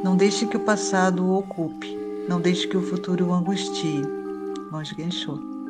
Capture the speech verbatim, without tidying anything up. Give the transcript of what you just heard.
Não deixe que o passado o ocupe. Não deixe que o futuro o angustie. Monge Genshou.